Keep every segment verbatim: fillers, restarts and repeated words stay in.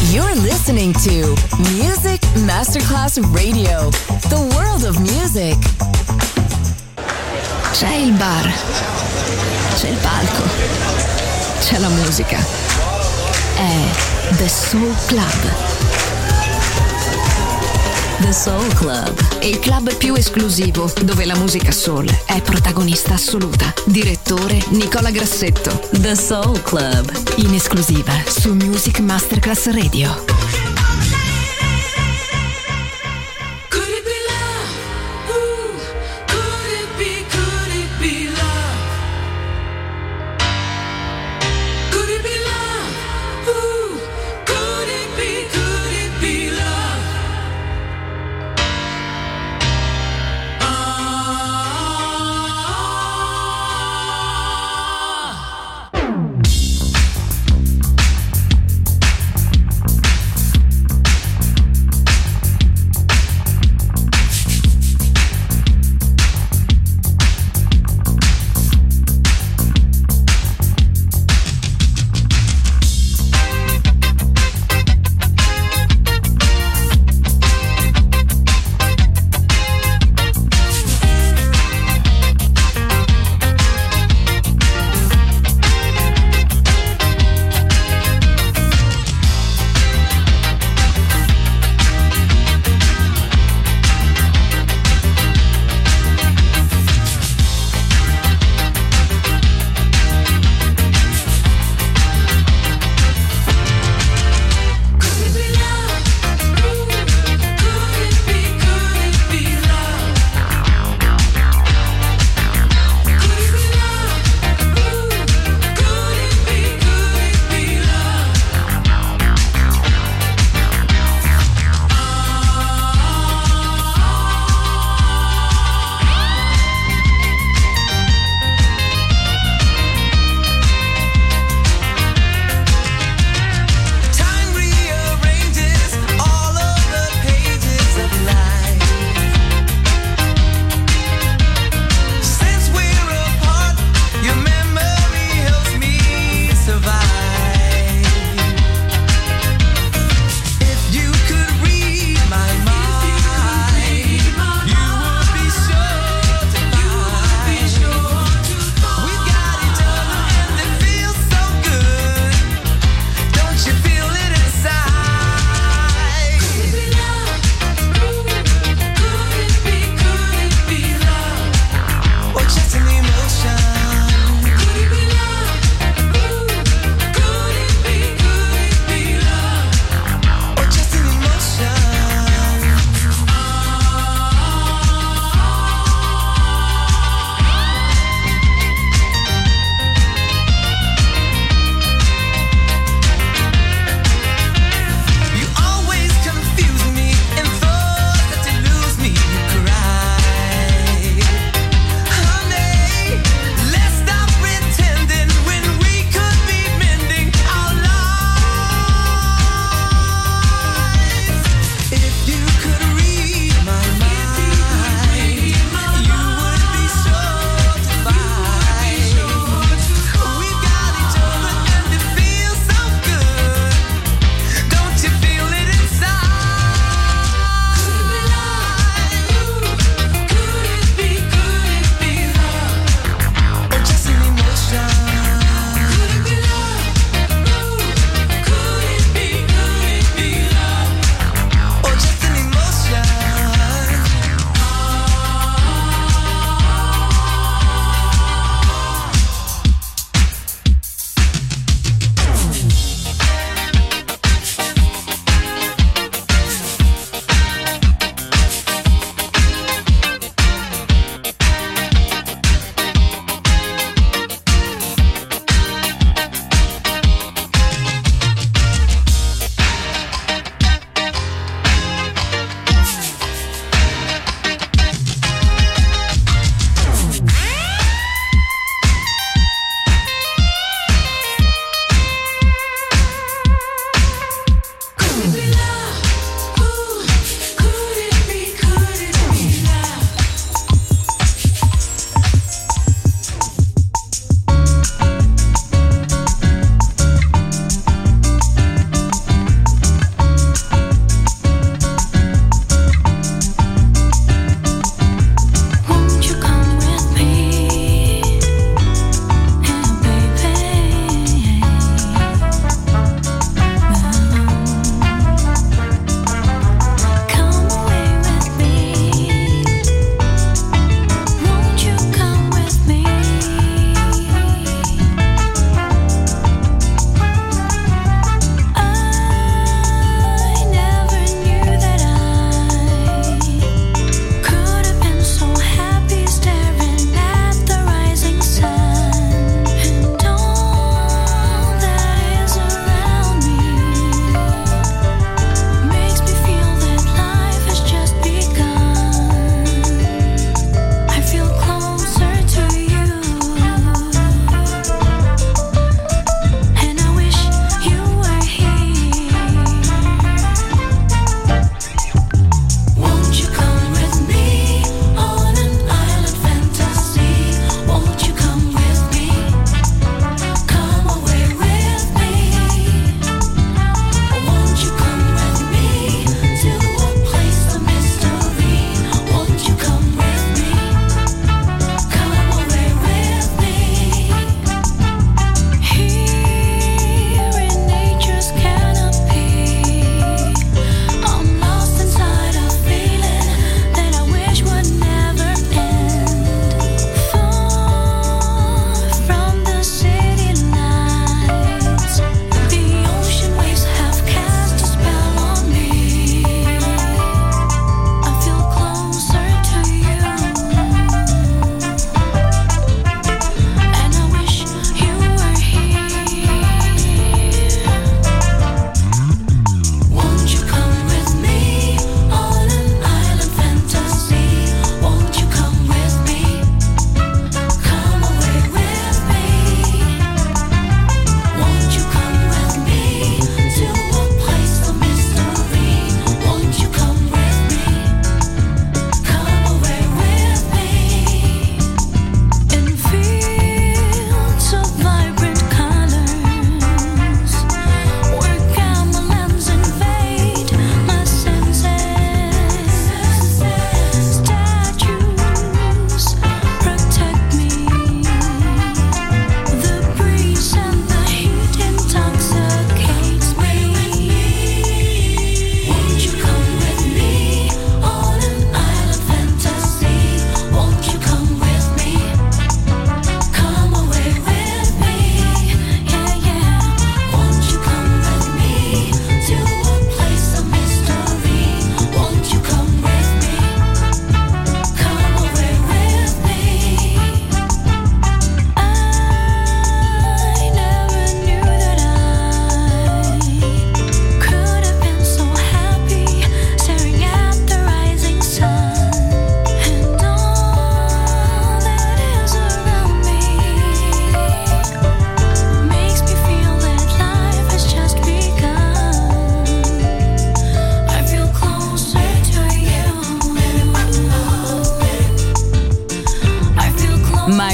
You're listening to Music Masterclass Radio, the world of music. C'è il bar, c'è il palco, c'è la musica. È The Soul Club. The Soul Club, il club più esclusivo dove la musica soul è protagonista assoluta. Direttore Nicola Grassetto. The Soul Club, in esclusiva su Music Masterclass Radio.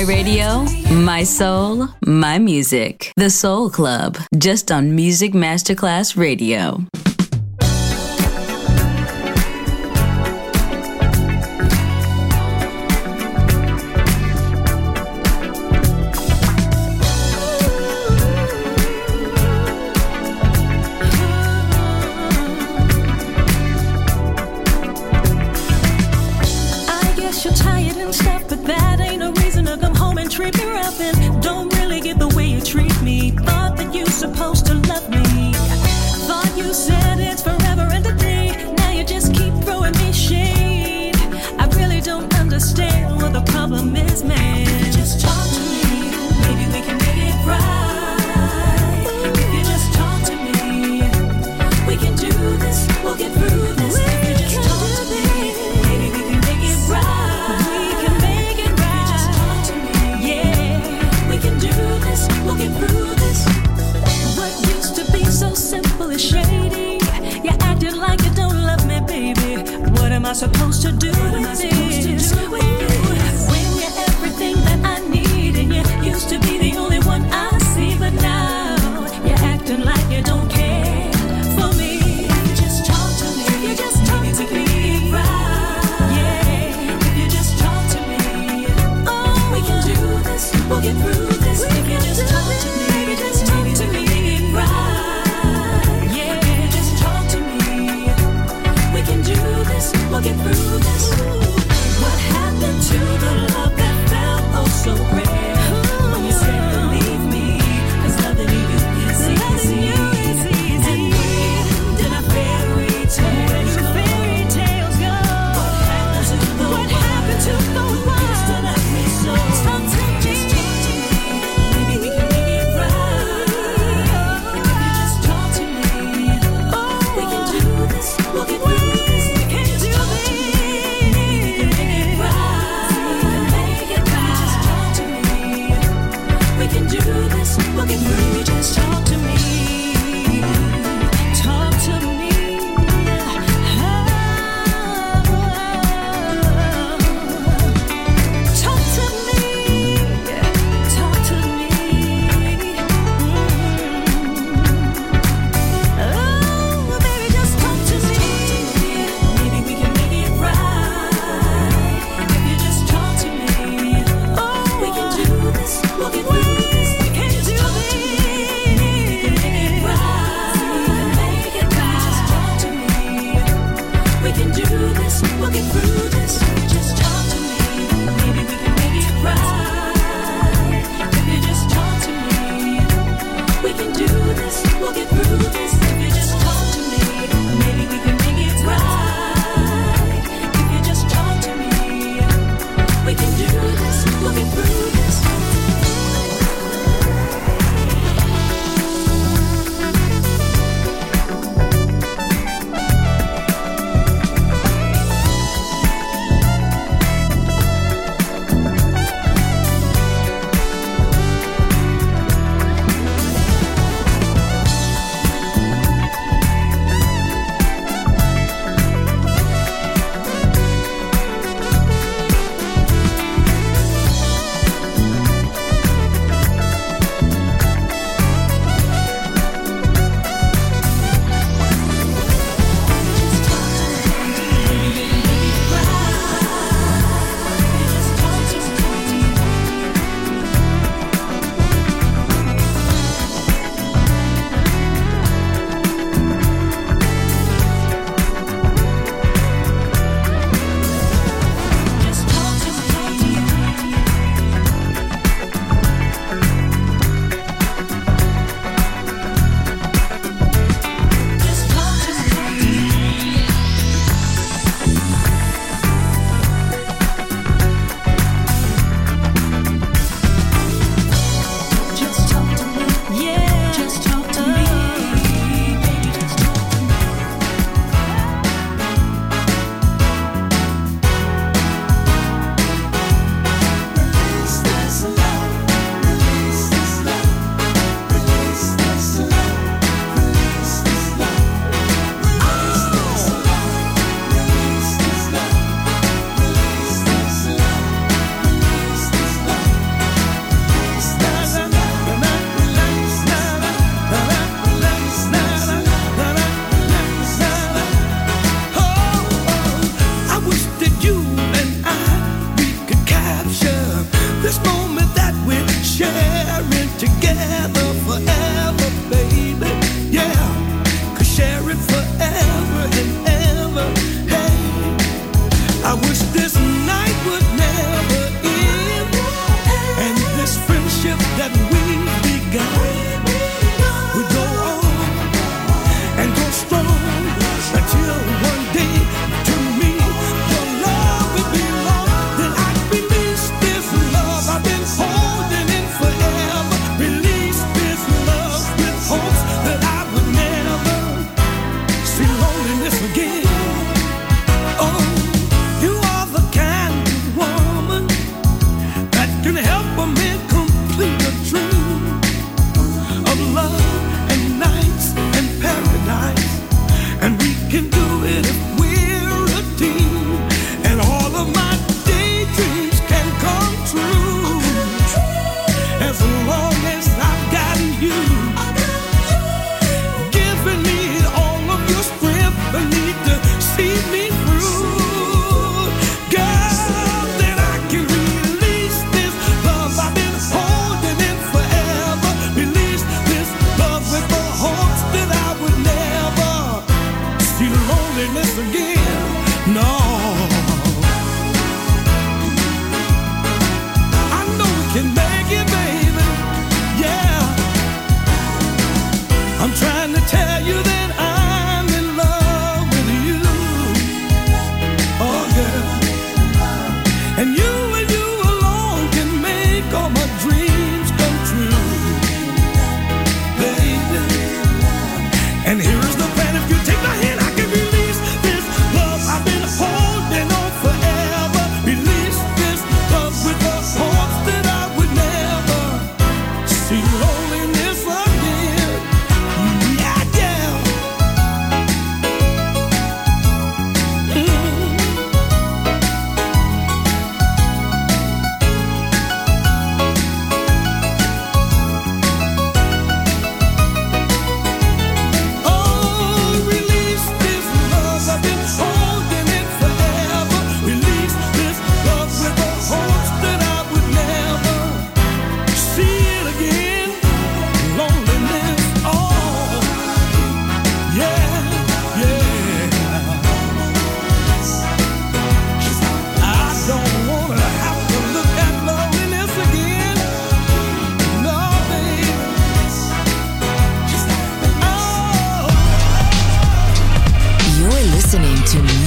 radio, my soul, my music. The Soul Club, just on Music Masterclass Radio. Treat me rough and don't really get the way you treat me. Thought that you're supposed to love me. Thought you said it's forever and a day. Now you just keep throwing me shade. I really don't understand what the problem is, man. If you just talk to me, maybe we can make it right. If you just talk to me, we can do this, we'll get through this. If you just talk to me, maybe we can make it right. We'll get through this. What used to be so simple is shady. You acted like you don't love me, baby. What am I supposed to do with this? When you're everything that I need, and you used to be the only one I see, but now you're acting like you don't care for me. If you just talk to me, if you just talk to me, right? Yeah, if you just talk to me, oh, we can do this. We'll get through this. If you just talk to me, just talk to me, right? Yeah, if you just talk to me, we can do this. We'll get through this. What happened?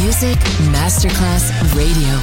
Music Masterclass Radio.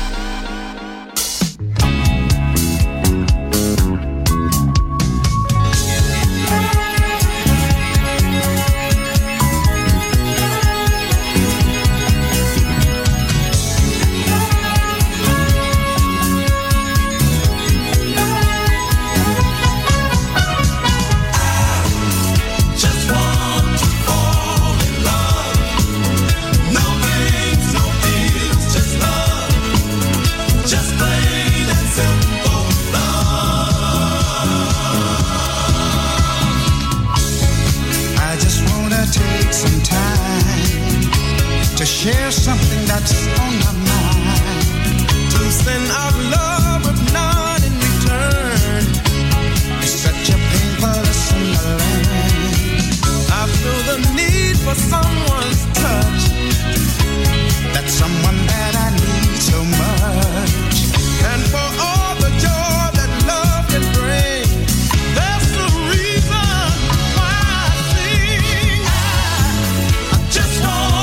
Share something that's on my mind. To send out love with none in return is such a painful lesson to learn. I feel the need for someone's touch. That's someone that I need so much. And for all the joy that love can bring, that's the reason why I sing. I, I just want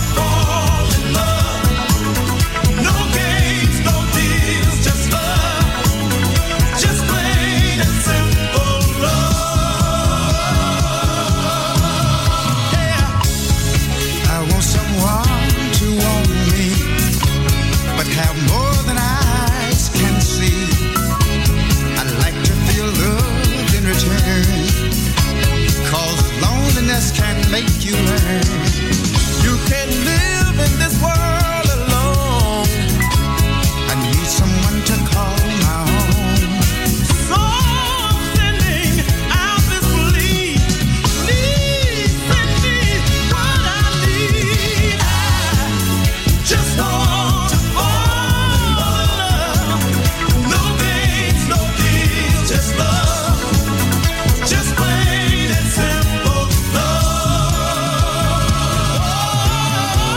can make you learn. You can't live in this world alone. I need someone to call my own. So I'm sending out this plea. Please send me what I need. I just want to fall in love. No games, no deals, just love. Just plain and simple.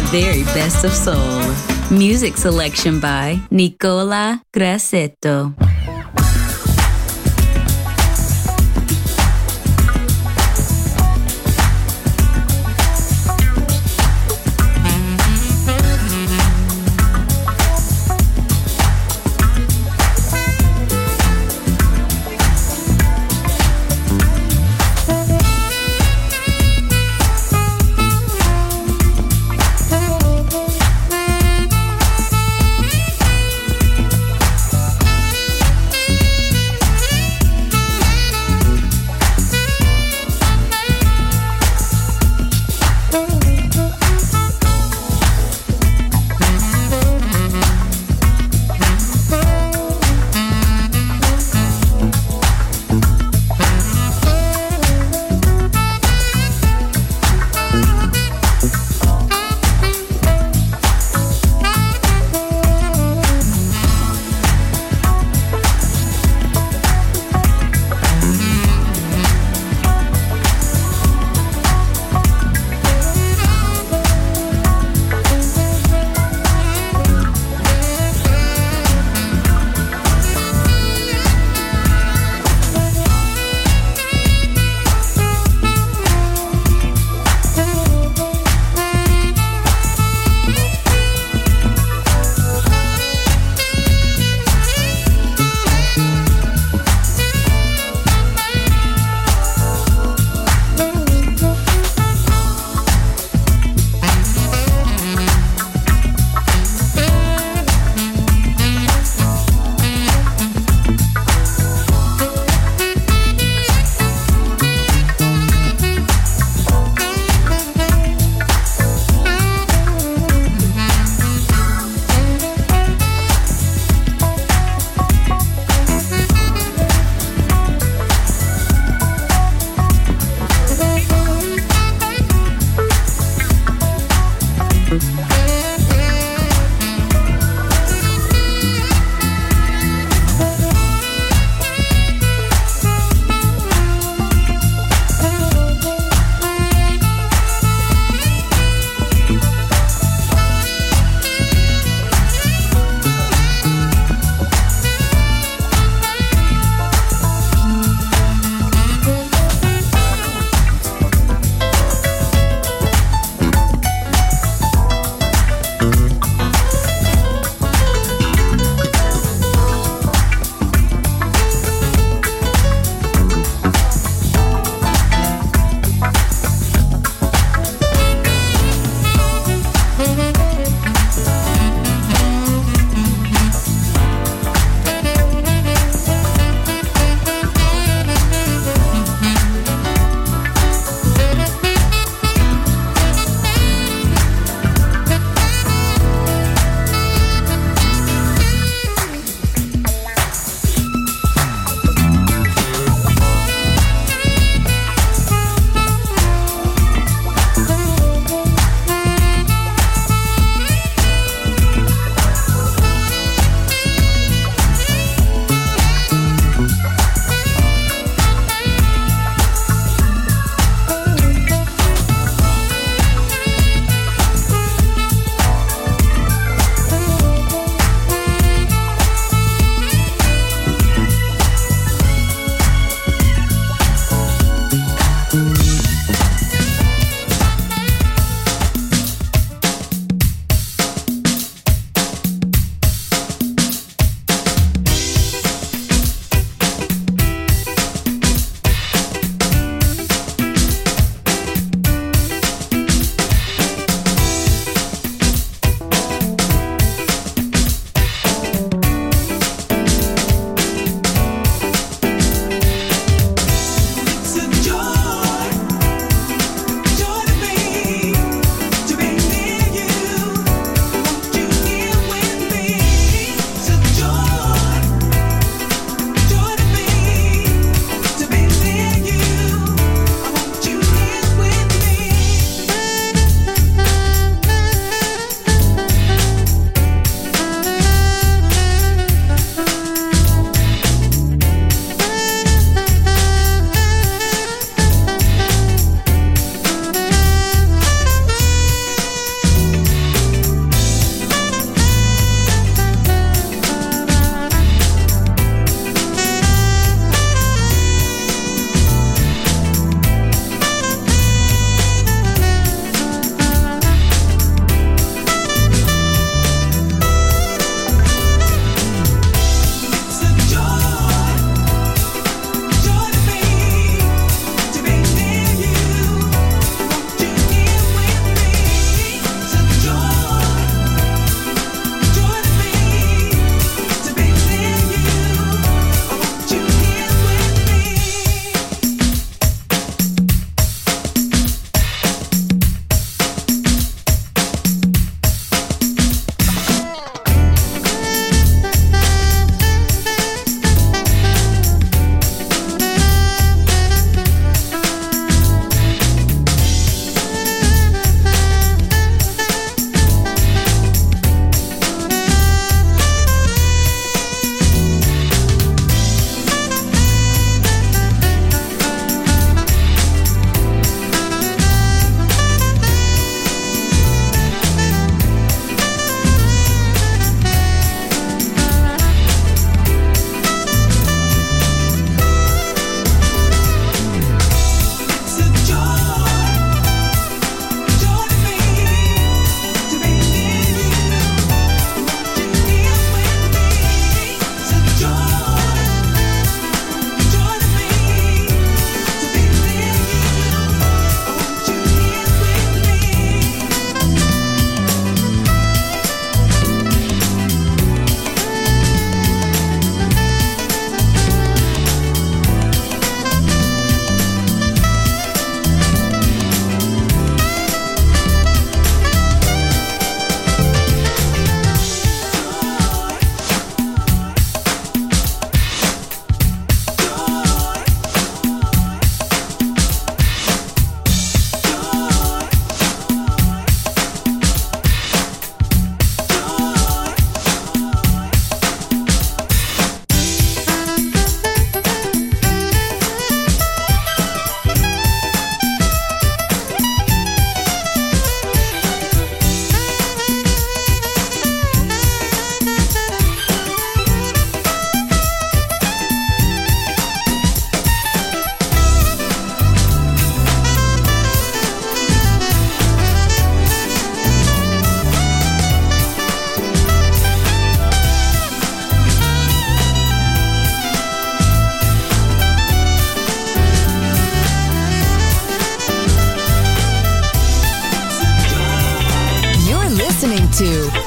very best of soul. Music selection by Nicola Grassetto.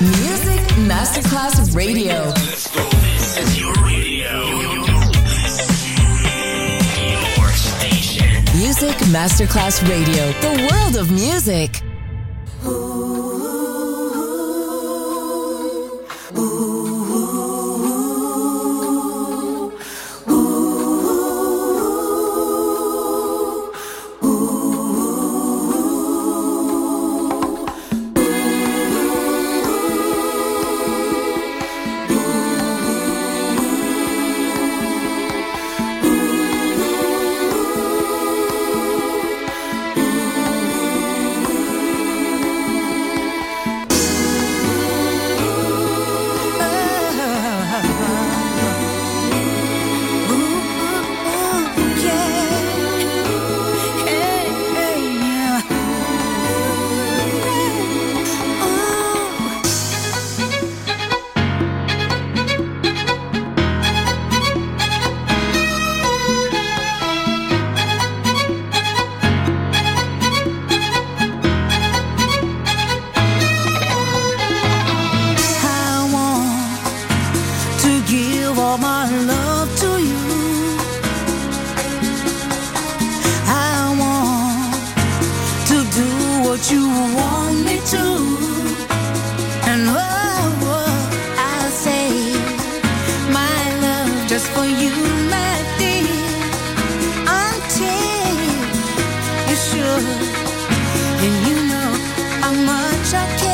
Music Masterclass Radio. Let's go. This is your radio. Your station. Music Masterclass Radio. The world of music.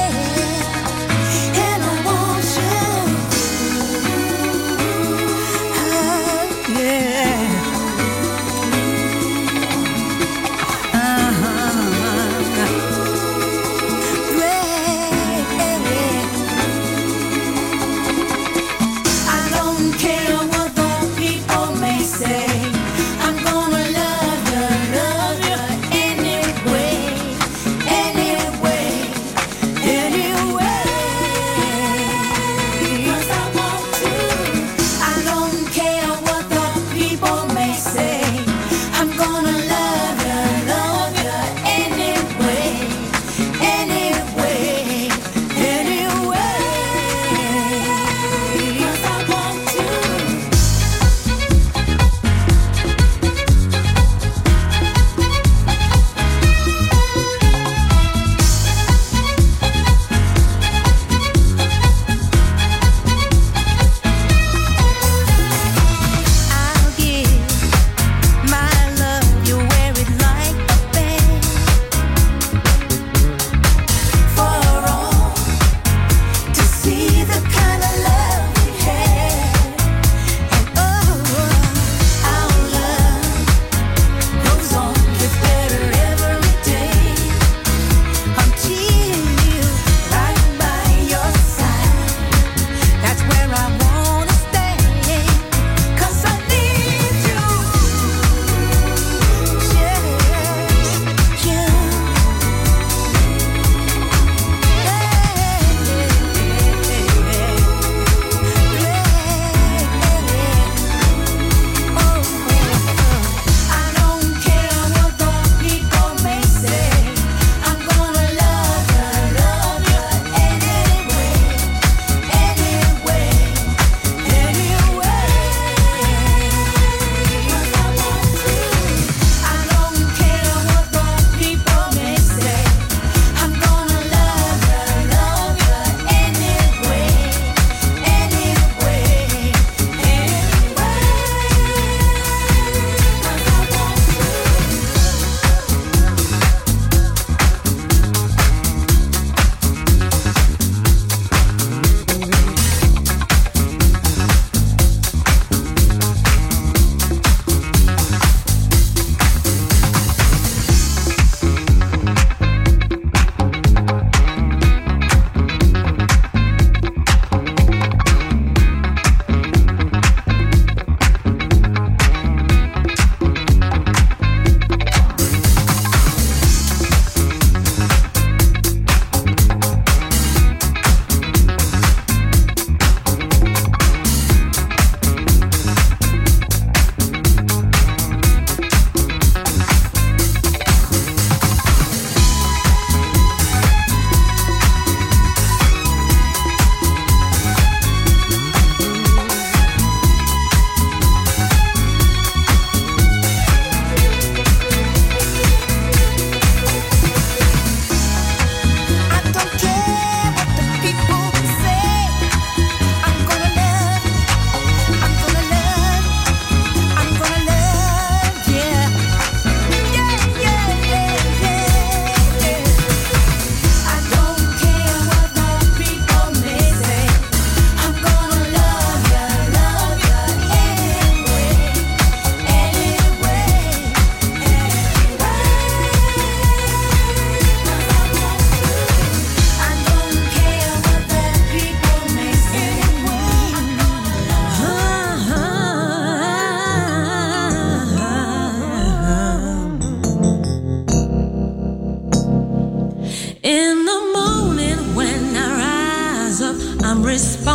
I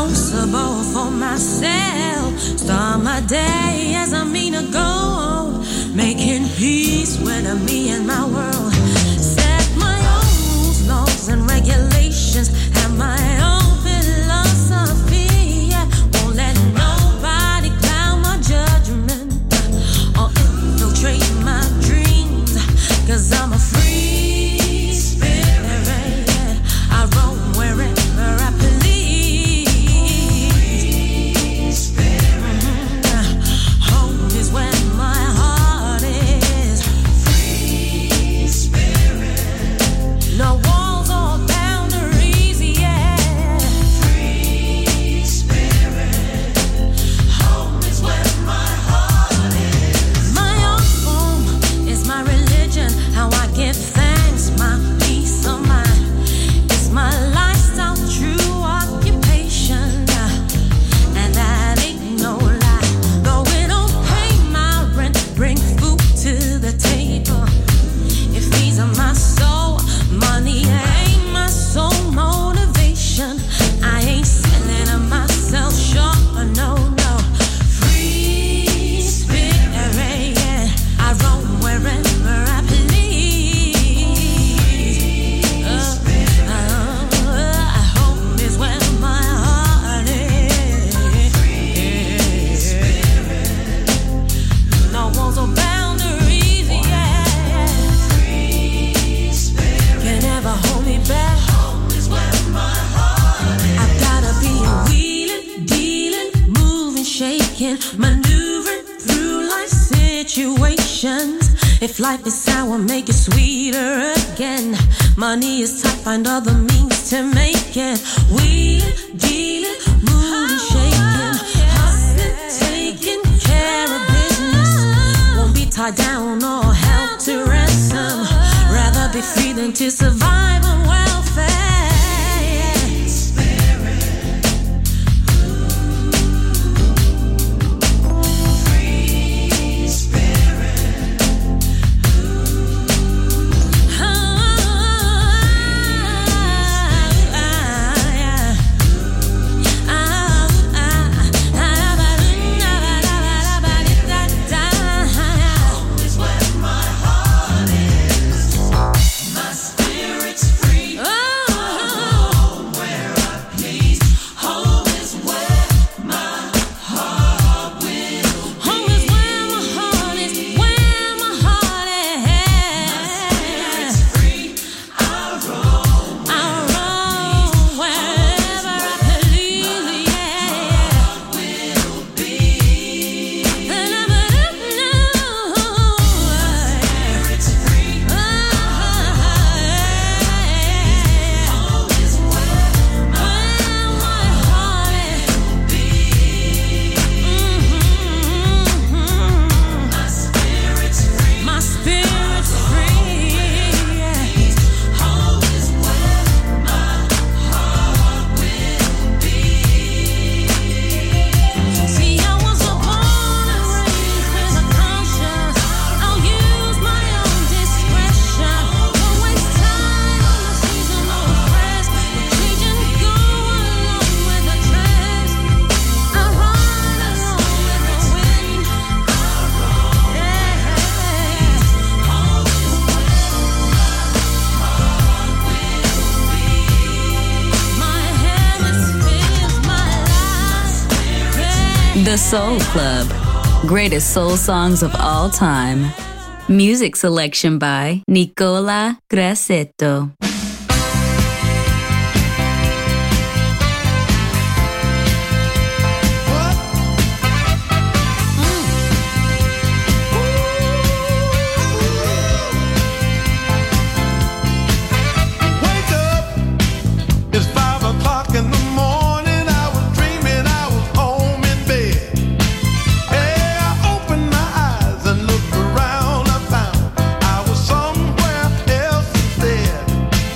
responsible for myself. Start my day as I mean to go, making peace with me and my world. Set my own rules, laws, and regulations, and my own philosophy. Yeah. Won't let nobody cloud my judgment or infiltrate my dreams, 'cause I'm a free spirit. Yeah. I roam wherever I please. No walls or boundaries, yeah. Free spirit. Home is where my heart is. My own home is my religion. How I give thanks, my peace of mind. It's my lifestyle, true occupation, and that ain't no lie. Though it don't pay my rent, bring food to the table. It feeds on my soul. Money ain't my sole motivation. I ain't selling myself short, no, no. Free spirit, yeah. I roam wherever I please. Uh, uh, home is where my heart is. Free spirit. No walls or boundaries, yeah. Can never hold me back. Home is where my heart is. I've gotta be wheeling, dealing, moving, shaking, maneuvering through life situations. If life is sour, make it sweeter again. Money is tight, find other means to make it. Wheeling, dealing, moving, shaking, hustling, taking care of business. Won't be tied down or held to ransom. Rather be free than to survive on welfare. Spirit. Free spirit. Oh, yeah. Home is where my heart is. My spirit's free. Home where I please. Home is where my heart will. Home is where my heart is. Where my heart is. My spirit's free. I roam. I roam wherever I please. Yeah. Will be. And I don't know. My spirit's free. Home is where my heart will be. My spirit's free. My spirit's free. Home is where my heart will be. See, I was born and raised with a conscience. I'll use my own discretion. Don't waste time on the seasonal press. Changing, go along with the trends. I run along with the wind. Yeah. Home is where my hemisphere is my life. Yeah. The Soul Club. Greatest soul songs of all time. Music selection by Nicola Grassetto. Wake up, it's five o'clock in the morning. I was dreaming I was home in bed. Hey, I opened my eyes and looked around. I found I was somewhere else instead.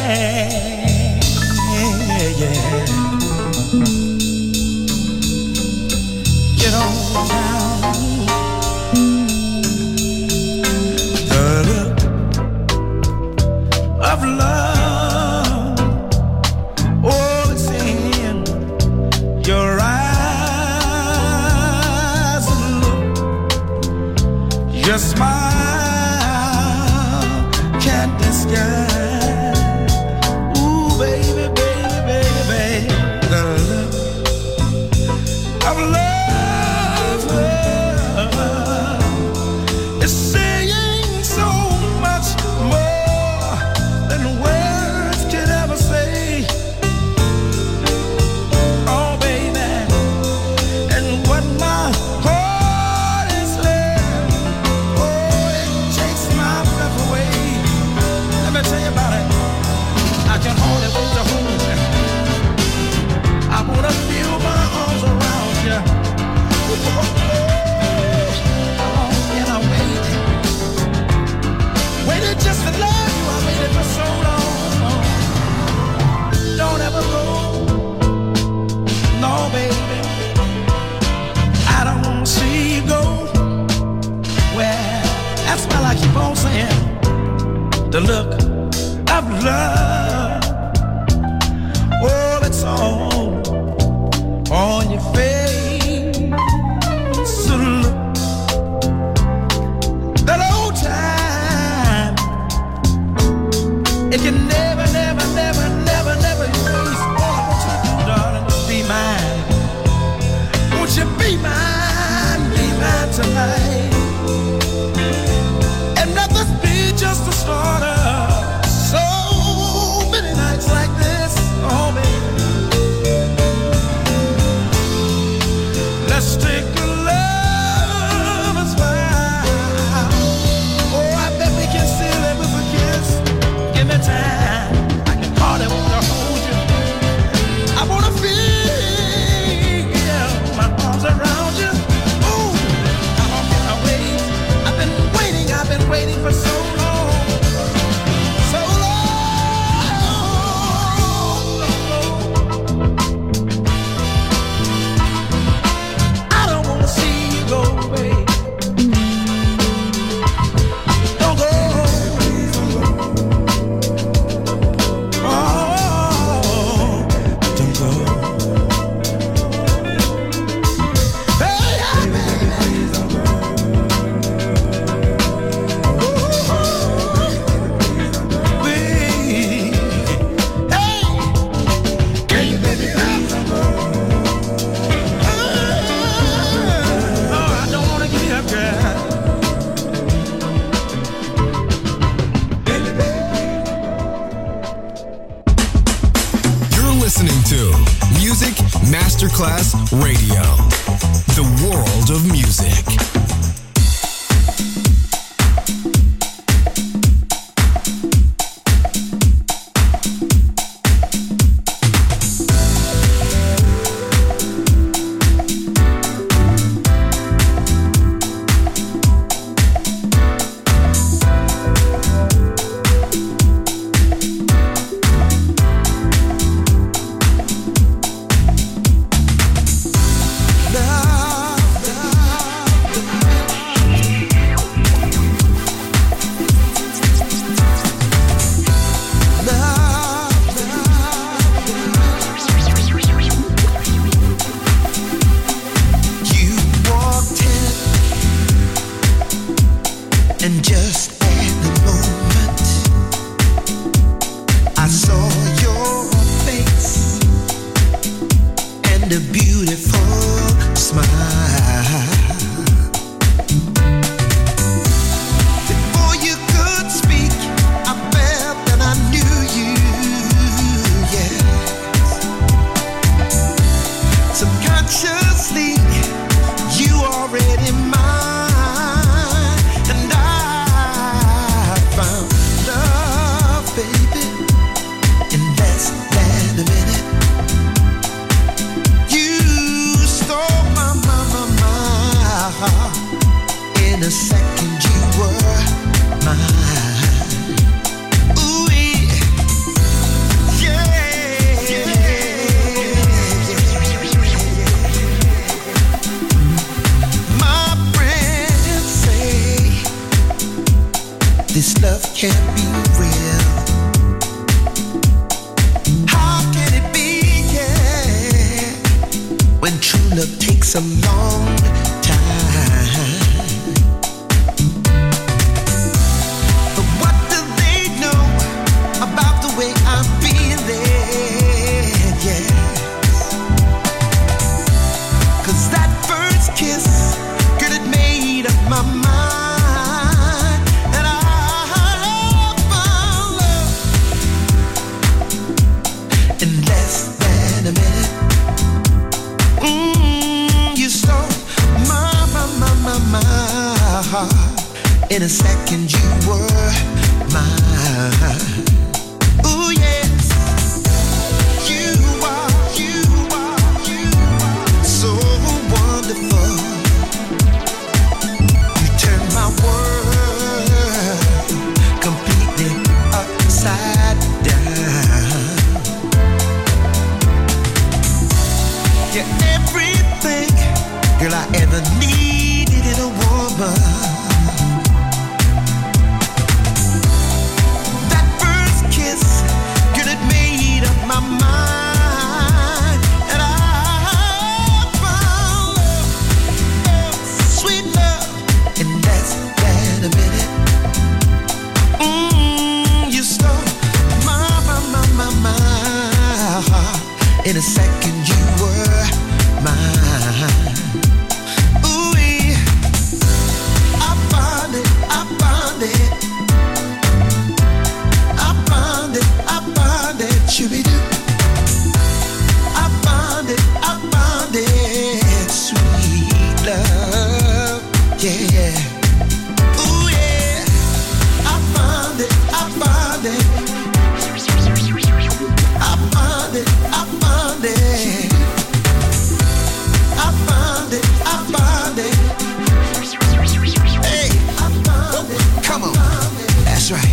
yeah. Get on down. The look of love, oh, it's in your eyes. Look, your smile can't disguise. Ooh, baby, baby, baby, baby, the look of love, love is saying so much more than words could ever say. Oh, baby, and what my heart is saying, oh, it takes my breath away. Let me tell you about it. I can hardly wait to hold you. I wanna feel my arms around you. How long can I wait? Waited just to love you. I waited for so long. Don't ever go. No, baby. I don't wanna see you go. Well, that's why I keep on saying the look of love. Oh, it's all on your face. So look, that old time, it can never, never, never, never, never erase. All I want you to do, darling, is be mine. Won't you be mine, be mine tonight? And let this be just the start of so many nights like this. Oh, baby, let's take a lover's vow. Oh, I bet we can seal it with a kiss. Give me time. I can hardly want to hold you. I wanna feel my arms around you. Ooh, how long can I wait? I've been waiting, I've been waiting for so long. So long. I don't wanna see you go away. Don't go. Oh, don't go. Hey, yeah, baby, please don't go. Hey, hey, baby, please don't go. Oh, I don't wanna give you up, girl. You're listening to Music Masterclass Radio, the world of music. You walked in, and just at the moment I saw your face and a beautiful smile. Before you could speak, I felt that I knew you, yes. Subconsciously, you already mine, and I found love, baby, in less than a minute. You In a second you were mine. Ooh yes, you are, you are, you are so wonderful. You turn my world completely upside down. You're everything, girl, I ever needed in a woman. My mind, and I found love, sweet love, and that's that a minute. Mm, you stole my, my, my, my, my heart. In a second you were mine. Ooh, I found it, I found it, I found it, I found it, shooby doo. Sweet love, yeah. Ooh yeah, I found it, I found it, I found it, I found it, I found it, I found it. Hey, I found it. Come on, that's right.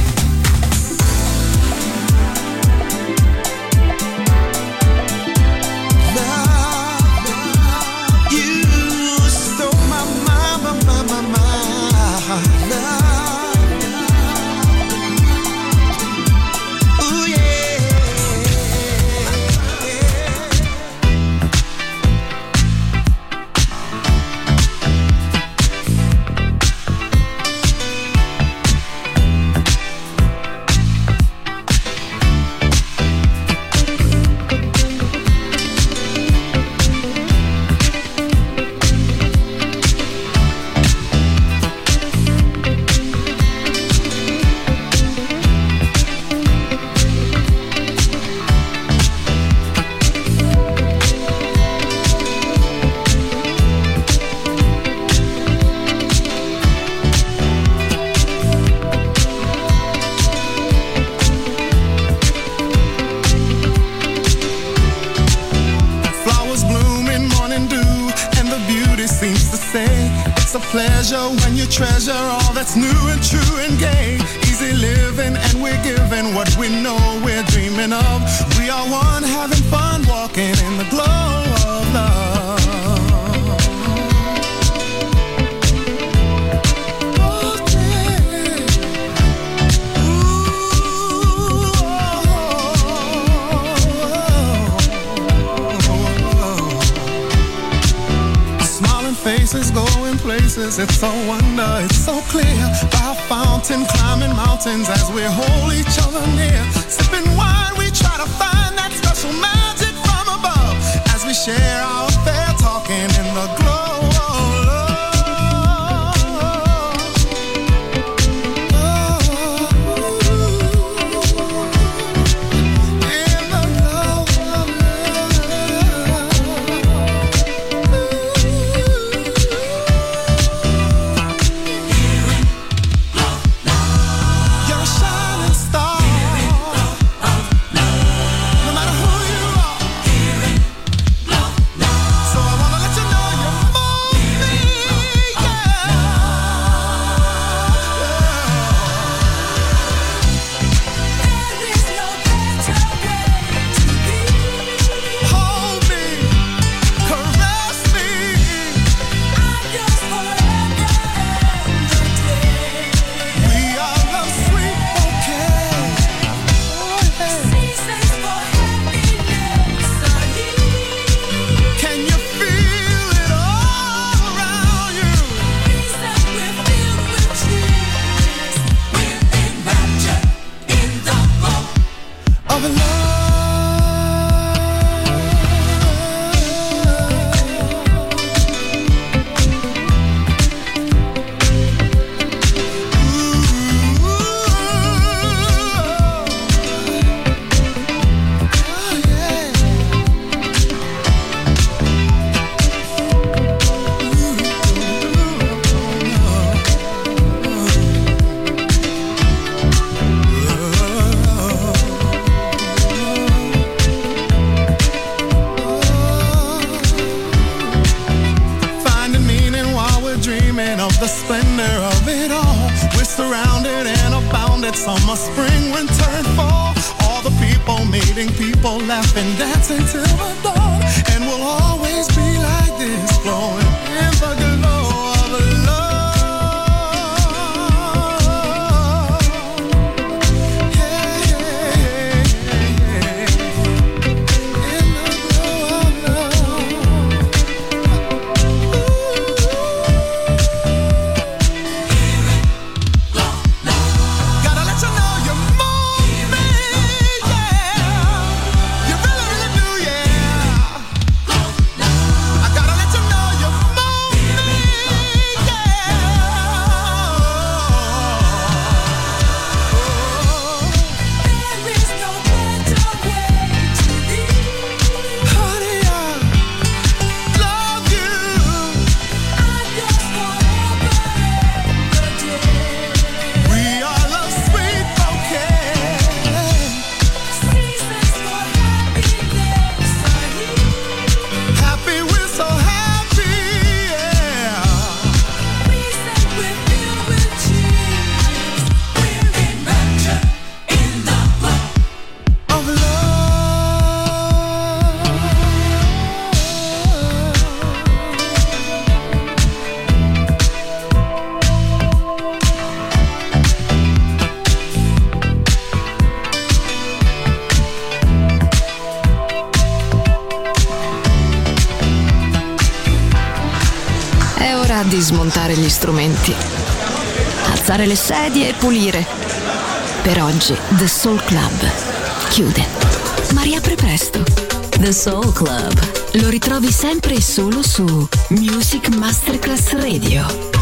Pleasure when you treasure all that's new and true and gay. Easy living and we're giving what we know we're dreaming of. We are one having fun walking in the glow of love. Oh, yeah. Ooh, oh, oh, oh. Smiling faces going places, it's so wonder, it's so clear. By a fountain, climbing mountains as we hold each other near. Sipping wine, we try to find that special magic from above. As we share our affair, talking in the glow of love. night, summer, spring, winter, and fall. All the people meeting, people laughing, dancing till the dawn. And we'll always be like this, flowing in the glow of love. Di smontare gli strumenti, alzare le sedie e pulire. Per oggi The Soul Club chiude, ma riapre presto. The Soul Club lo ritrovi sempre e solo su Music Masterclass Radio.